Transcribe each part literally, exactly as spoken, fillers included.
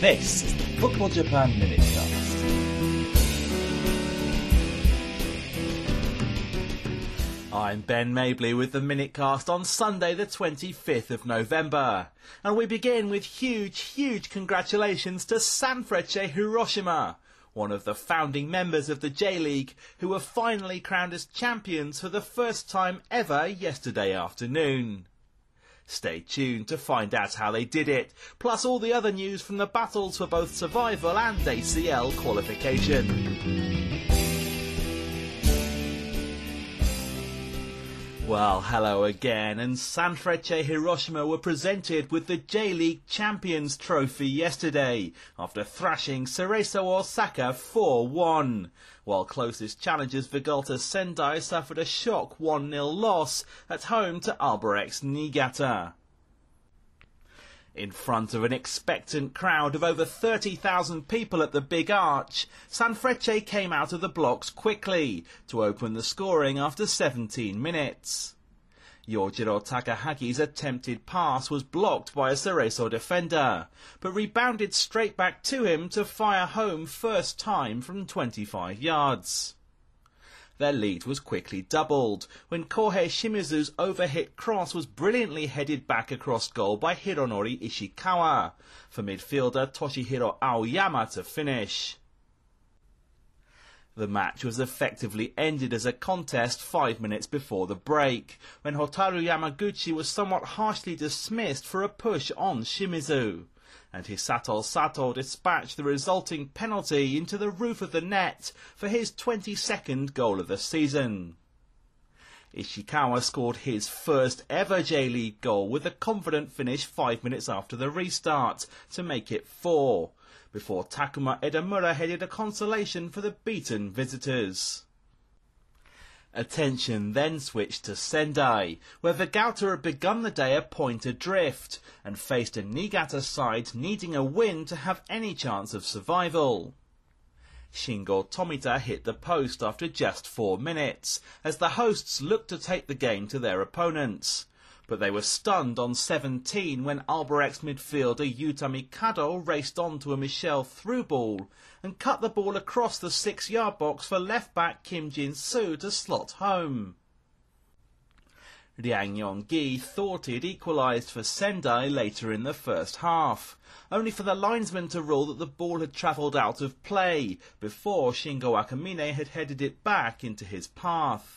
This is the Football Japan Minutecast. I'm Ben Mabley with the Minutecast on Sunday the twenty-fifth of November. And we begin with huge, huge congratulations to Sanfrecce Hiroshima, one of the founding members of the J-League, who were finally crowned as champions for the first time ever yesterday afternoon. Stay tuned to find out how they did it, plus all the other news from the battles for both survival and A C L qualification. Well, hello again, and Sanfrecce Hiroshima were presented with the J-League Champions Trophy yesterday, after thrashing Cerezo Osaka four one, while closest challengers Vegalta Sendai suffered a shock one nil loss at home to Albirex Niigata. In front of an expectant crowd of over thirty thousand people at the Big Arch, Sanfrecce came out of the blocks quickly to open the scoring after seventeen minutes. Yojiro Takahagi's attempted pass was blocked by a Cerezo defender, but rebounded straight back to him to fire home first time from twenty-five yards. Their lead was quickly doubled when Kohei Shimizu's overhit cross was brilliantly headed back across goal by Hironori Ishikawa for midfielder Toshihiro Aoyama to finish. The match was effectively ended as a contest five minutes before the break, when Hotaru Yamaguchi was somewhat harshly dismissed for a push on Shimizu, and Hisato Sato dispatched the resulting penalty into the roof of the net for his twenty-second goal of the season. Ishikawa scored his first ever J-League goal with a confident finish five minutes after the restart to make it four, before Takuma Edamura headed a consolation for the beaten visitors. Attention then switched to Sendai, where Vegalta had begun the day a point adrift and faced a Niigata side needing a win to have any chance of survival. Shingo Tomita hit the post after just four minutes, as the hosts looked to take the game to their opponents, but they were stunned on seventeen when Albirex midfielder Yuta Mikado raced onto a Michel through ball and cut the ball across the six-yard box for left-back Kim Jin-soo to slot home. Liang Yong-gi thought he'd equalised for Sendai later in the first half, only for the linesman to rule that the ball had travelled out of play before Shingo Akamine had headed it back into his path.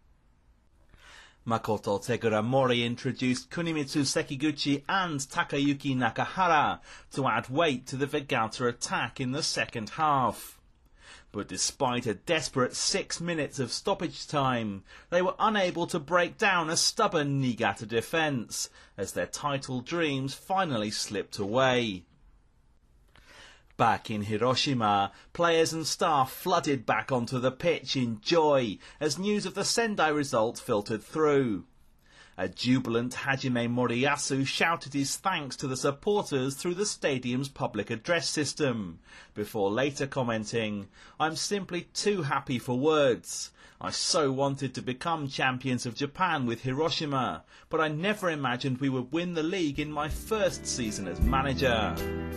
Makoto Teguramori introduced Kunimitsu Sekiguchi and Takayuki Nakahara to add weight to the Vegalta attack in the second half. But despite a desperate six minutes of stoppage time, they were unable to break down a stubborn Niigata defence, as their title dreams finally slipped away. Back in Hiroshima, players and staff flooded back onto the pitch in joy as news of the Sendai result filtered through. A jubilant Hajime Moriyasu shouted his thanks to the supporters through the stadium's public address system, before later commenting, "I'm simply too happy for words. I so wanted to become champions of Japan with Hiroshima, but I never imagined we would win the league in my first season as manager."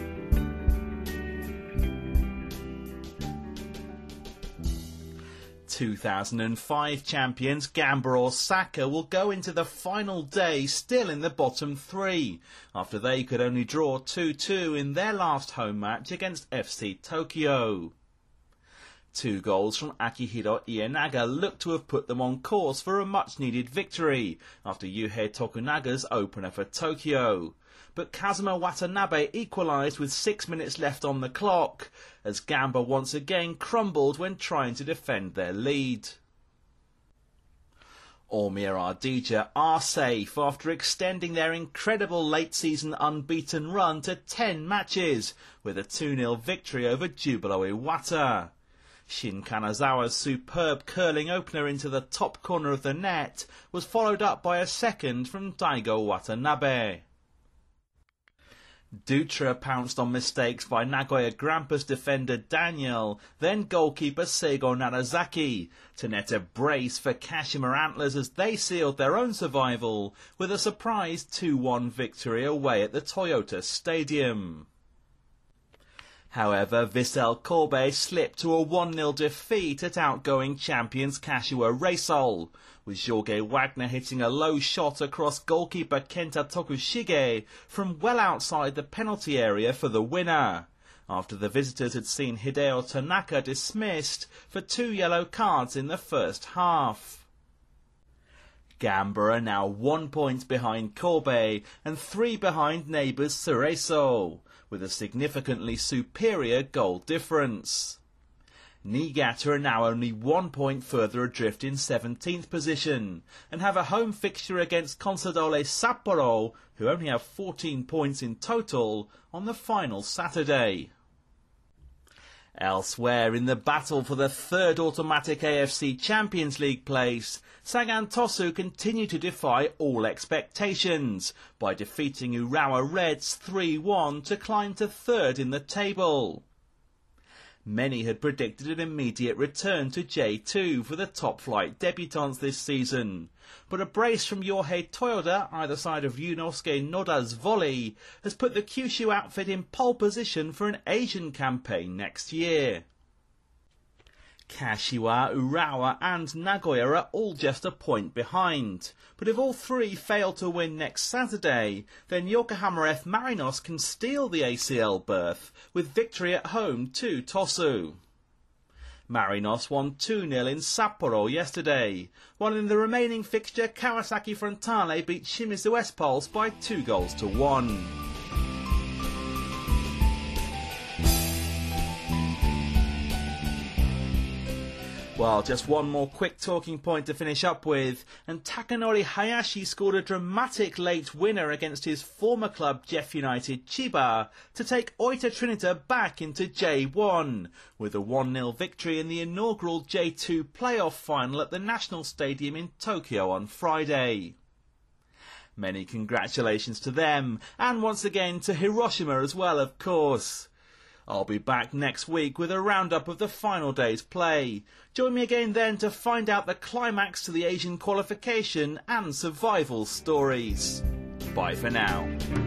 two thousand five champions Gamba Osaka will go into the final day still in the bottom three, after they could only draw two two in their last home match against F C Tokyo. Two goals from Akihiro Ienaga looked to have put them on course for a much-needed victory after Yuhei Tokunaga's opener for Tokyo. But Kazuma Watanabe equalised with six minutes left on the clock, as Gamba once again crumbled when trying to defend their lead. Omiya Ardija are safe after extending their incredible late-season unbeaten run to ten matches, with a two nil victory over Jubilo Iwata. Shin Kanazawa's superb curling opener into the top corner of the net was followed up by a second from Daigo Watanabe. Dutra pounced on mistakes by Nagoya Grampus defender Daniel, then goalkeeper Seigo Narazaki, to net a brace for Kashima Antlers as they sealed their own survival with a surprise two one victory away at the Toyota Stadium. However, Vissel Kobe slipped to a one nil defeat at outgoing champions Kashiwa Reysol, with Jorge Wagner hitting a low shot across goalkeeper Kenta Tokushige from well outside the penalty area for the winner, after the visitors had seen Hideo Tanaka dismissed for two yellow cards in the first half. Gamba are now one point behind Kobe and three behind neighbours Cerezo, with a significantly superior goal difference. Niigata are now only one point further adrift in seventeenth position and have a home fixture against Consadole Sapporo, who only have fourteen points in total, on the final Saturday. Elsewhere, in the battle for the third automatic A F C Champions League place, Sagan Tosu continue to defy all expectations by defeating Urawa Reds three one to climb to third in the table. Many had predicted an immediate return to J two for the top-flight debutants this season, but a brace from Yohei Toyoda, either side of Yunosuke Noda's volley, has put the Kyushu outfit in pole position for an Asian campaign next year. Kashiwa, Urawa and Nagoya are all just a point behind, but if all three fail to win next Saturday, then Yokohama F Marinos can steal the A C L berth with victory at home to Tosu. Marinos won two nil in Sapporo yesterday, while in the remaining fixture Kawasaki Frontale beat Shimizu S-Pulse by two goals to one. Well, just one more quick talking point to finish up with, and Takanori Hayashi scored a dramatic late winner against his former club Jeff United Chiba to take Oita Trinita back into J one, with a one nil victory in the inaugural J two playoff final at the National Stadium in Tokyo on Friday. Many congratulations to them, and once again to Hiroshima as well, of course. I'll be back next week with a roundup of the final day's play. Join me again then to find out the climax to the Asian qualification and survival stories. Bye for now.